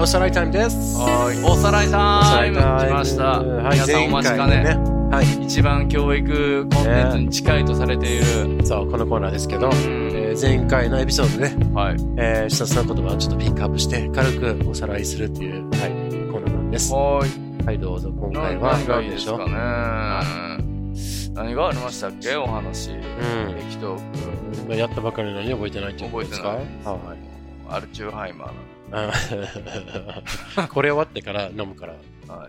おさらいタイムです。 はい、おさらいタイム来ました。皆さんお待ちかね。はい、一番教育コンテンツに近いとされている、 そうこのコーナーですけど、前回のエピソードで、はい一つの言葉をちょっとピックアップして軽くおさらいするっていう、はい、コーナーなんです。はい、どうぞ。今回は何がいいですかね。何がありましたっけお話。激トーク。 やったばかりなのに覚えてないってことですか？ 覚えてない。はい。アルチューハイマーこれ終わってから飲むから。はい。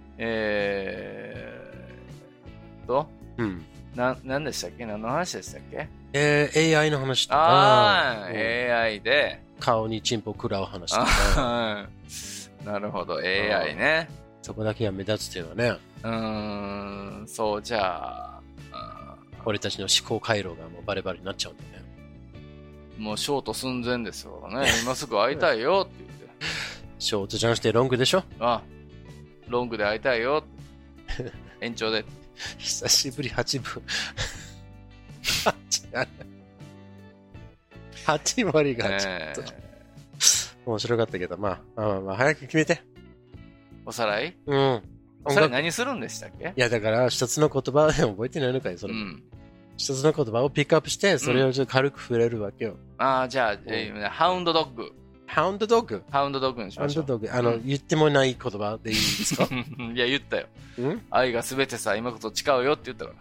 何でしたっけ？何の話でしたっけ ？AI の話とか。 AI で。 顔にチンポ食らう話とか。 なるほど、AI ね。 そこだけが目立つっていうのはね。 そう、じゃあ。 俺たちの思考回路がもうバレバレになっちゃうんだね。 もうショート寸前ですよね。今すぐ会いたいよって言って。 ショートじゃなくてロングでしょ？ ロングで会いたいよ。延長で。 久しぶり8分。8割がちょっと。面白かったけど、まあ、早く決めて。 おさらい？おさらい何するんでしたっけ？ いや、だから一つの言葉で覚えてないのかい、それ。一つの言葉をピックアップして、それをちょっと軽く触れるわけよ。 じゃあ、ハウンドドッグ。 ハウンドドッグ？ ハウンドドッグにしましょう。 ハウンドドッグ。言ってもない言葉でいいですか？ いや、言ったよ。愛がすべてさ、今こと誓うよって言ったから。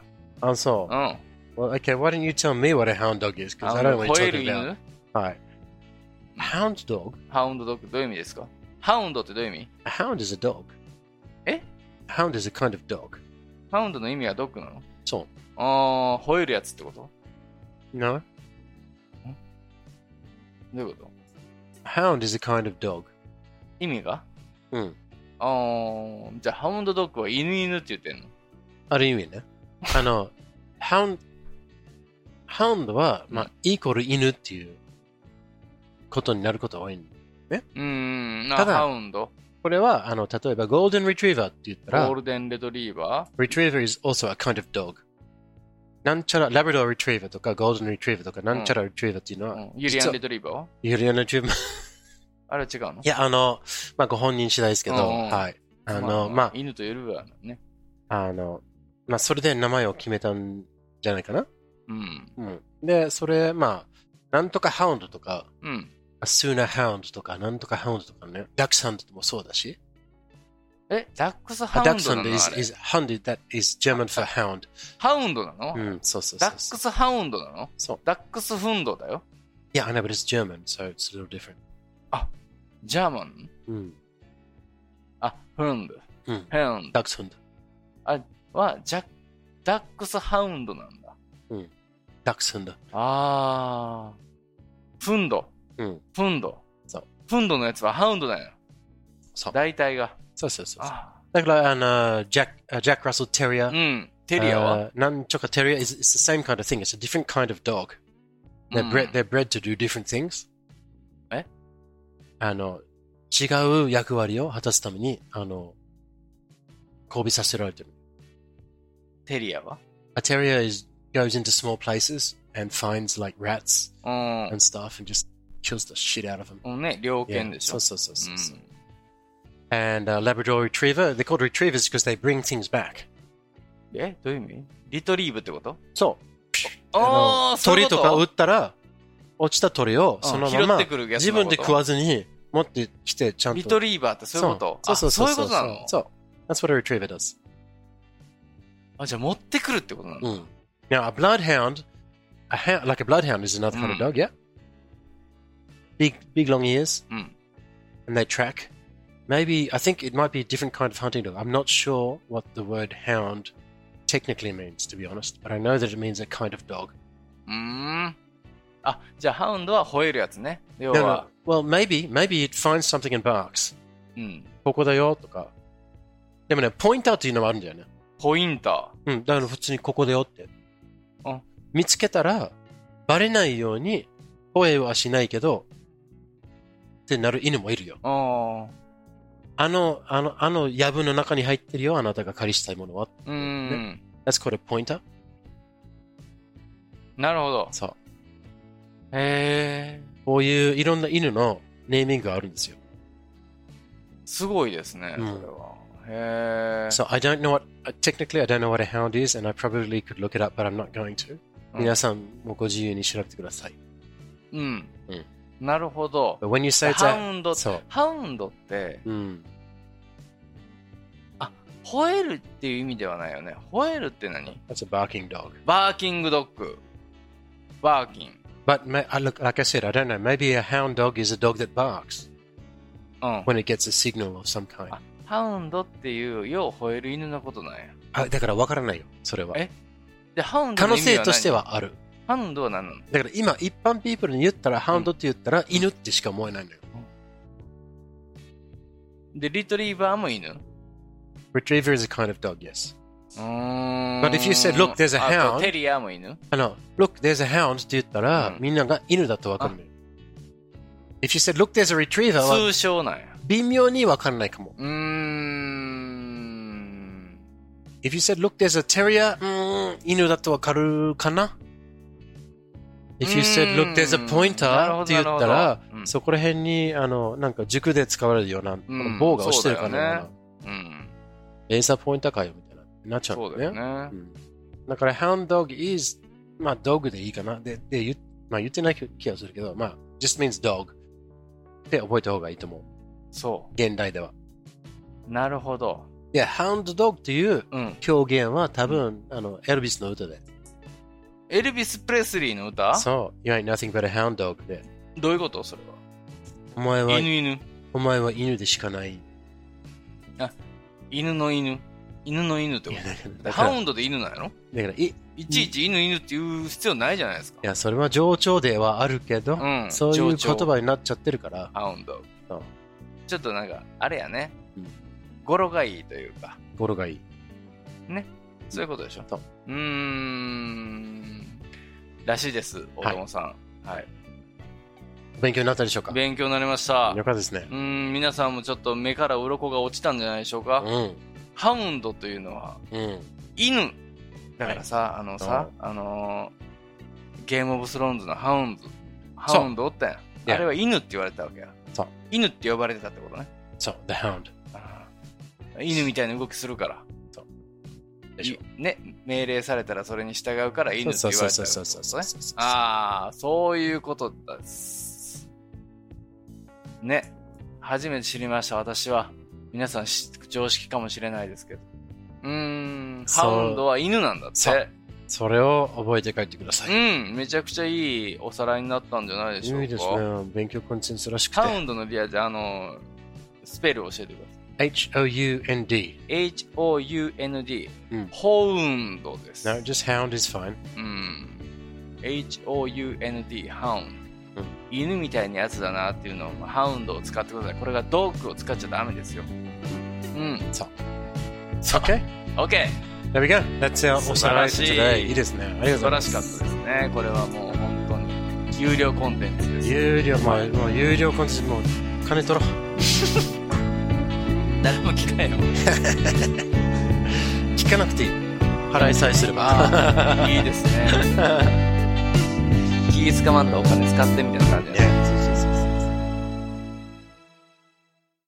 そう。Well, okay, why don't you tell me what a hound dog is? Because I don't know what you're talking about. はい。Hound dog? ハウンドドッグ、どういう意味ですか？ハウンドってどういう意味？ A hound is a dog. Hound is a kind of dog. ハウンドの意味はドッグなの？ そう。 吠えるやつってこと？ No. どういうこと？ Hound is a kind of dog. 意味が？じゃあハウンドドッグは犬って言ってんの？ ある意味ね。ハウンドは、イコール犬っていうことになることが多いんだね。 ただ、ハウンド。 これは、例えば、ゴールデンリトリーバーって言ったら、 ゴールデンレトリーバー Retriever is also a kind of dog. なんちゃら、ラブドーリトリーバーとか、ゴールデンリトリーバーとか、なんちゃらリトリーバーっていうのは、 ユリアンレトリーバーはユリアンレトリーバー。 あれは違うの？ いや、ご本人次第ですけど、はい。 犬と夜はね。 それで名前を決めたんじゃないかな。で、それ、なんとかハウンドとか、スーナーハウンドとか、なんとかハウンドとかね、ダックスハウンドもそうだし。 ダックスハウンドなの？ダックスハウンド is that is German for hound. ハウンドなの？ そうそうそう。 ダックスハウンドなの？ そう。 ダックスフンドだよ。 Yeah, I know, but it's German, so it's a little different. ジャーマン？フンド。 ダックスフンド。 は、ダックスハウンドなんだ。 ダックスフンド。 フンド。フンド。 そう。 フンドのやつはハウンドだよ。 そう。 大体が。 そう。だから、ジャック・ラッセル・テリア。 テリアはなんちょかテリア is the same kind of thing. It's a different kind of dog. They're bred to do different things. 違う役割を果たすために、交尾させられてる。 テリアは A terrier goes into small places and finds like rats and stuff and just kills the shit out of them. ね、猟犬でしょ。 そう。And Labrador Retriever, they're called retrievers because they bring things back. どういう意味？リトリーブってこと？ そう。鳥とか撃ったら、落ちた鳥をそのまま自分で食わずに持ってきてちゃんと。 リトリーバーってそういうこと？そういうことなの？ そう。That's what a retriever does. じゃあ持ってくるってことなの？ Now, a bloodhound, like a bloodhound is another kind of dog, yeah? Big long ears, and they track. Maybe, I think it might be a different kind of hunting dog. I'm not sure what the word hound technically means, to be honest, but I know that it means a kind of dog. じゃあハウンドは吠えるやつね。要は。 Well, maybe it finds something and barks. ここだよとか。でもね、ポインターっていうのもあるんだよね。 ポインター？だから普通にここだよって。見つけたら、バレないように、吠えはしないけど、ってなる犬もいるよ。藪の中に入ってるよ、あなたが狩りしたいものは。That's called a pointer. なるほど。 そう。こういういろんな犬のネーミングがあるんですよ。 すごいですね、それは。へー。 So I don't know what, technically I don't know what a hound is, and I probably could look it up, but I'm not going to. 皆さんもご自由に調べてください。 なるほど。 But when you say it's ハウンドって、吠えるっていう意味ではないよね。吠えるって何？ That's a barking dog. バーキングドッグ。バーキン。 But look, like I said, I don't know. Maybe a hound dog is a dog that barks when it gets a signal of some kind. ハウンドっていうよう吠える犬のことなんや。 だから分からないよ、それは。 で、ハウンドの意味は何？ 可能性としてはある。 ハウンドは何なの？ だから今、一般ピープルに言ったら、ハウンドって言ったら、犬ってしか思えないのよ。 で、リトリーバーも犬 ？Retriever is a kind of dog, yes. But if you said, look, there's a hound. テリアも犬 ？Look, there's a hound って言ったら、みんなが犬だと分かるのよ。If you said, look, there's a retriever は通称なんや。 微妙に分からないかも。If you said, look, there's a terrier, 犬だと分かるかな？ If you said, look, there's a pointer って言ったら、そこら辺に、なんか塾で使われるような、棒が押してるかな。レーザーポインターかよ、みたいな。なっちゃうんだよね。だから、hound dog is、まあ、ドッグでいいかな。で、言ってない気がするけど、まあ、just means dog って覚えた方がいいと思う。 そう。 現代では。 なるほど。 いや、hound dog っていう表現は多分、エルビスの歌で。 エルビス・プレスリーの歌？ そう。You ain't nothing but a hound dog で。 どういうことそれは。 お前は犬でしかない。 犬の犬ってこと？ハウンドで犬なんやろ？だからいちいち犬って言う必要ないじゃないですか。 いや、それは冗長ではあるけど、そういう言葉になっちゃってるから。 ハウンド。ちょっとなんか、あれやね。語呂がいいというか。 語呂がいい。 ね。そういうことでしょ。らしいです、大友さん。はい。 勉強になったでしょうか？ 勉強になりました。 よかったですね。 皆さんもちょっと目から鱗が落ちたんじゃないでしょうか？ハウンドというのは、犬。だからさ、ゲームオブスローンズのハウンドおったやん。あれは犬って言われてたわけや。犬って呼ばれてたってことね。 そう、the hound。 犬みたいな動きするから。ね、命令されたらそれに従うから犬って言われてたってことね。ああ、そういうことです。ね。初めて知りました、私は。皆さん常識かもしれないですけど。ハウンドは犬なんだって。 それを覚えて帰ってください。 めちゃくちゃいいおさらいになったんじゃないでしょうか。 いいですね。勉強コンテンツらしくて。 ハウンドのリアでスペルを教えてください。 H-O-U-N-D H-O-U-N-D、ホウンドです。 No, just hound is fine. H-O-U-N-D ハウンド、犬みたいなやつだなっていうのをハウンドを使ってください。これがドッグを使っちゃダメですよ。 そう。 OK? OK! There we go. That's our おさらい today. いいですね。ありがとうございます。 素晴らしかったですね。これはもう本当に有料コンテンツです。 もう有料コンテンツ、もう金取ろう。 誰も聞かないよ。 聞かなくていい。払いさえすれば。 いいですね。気使わんとお金使ってみたいな感じじゃない。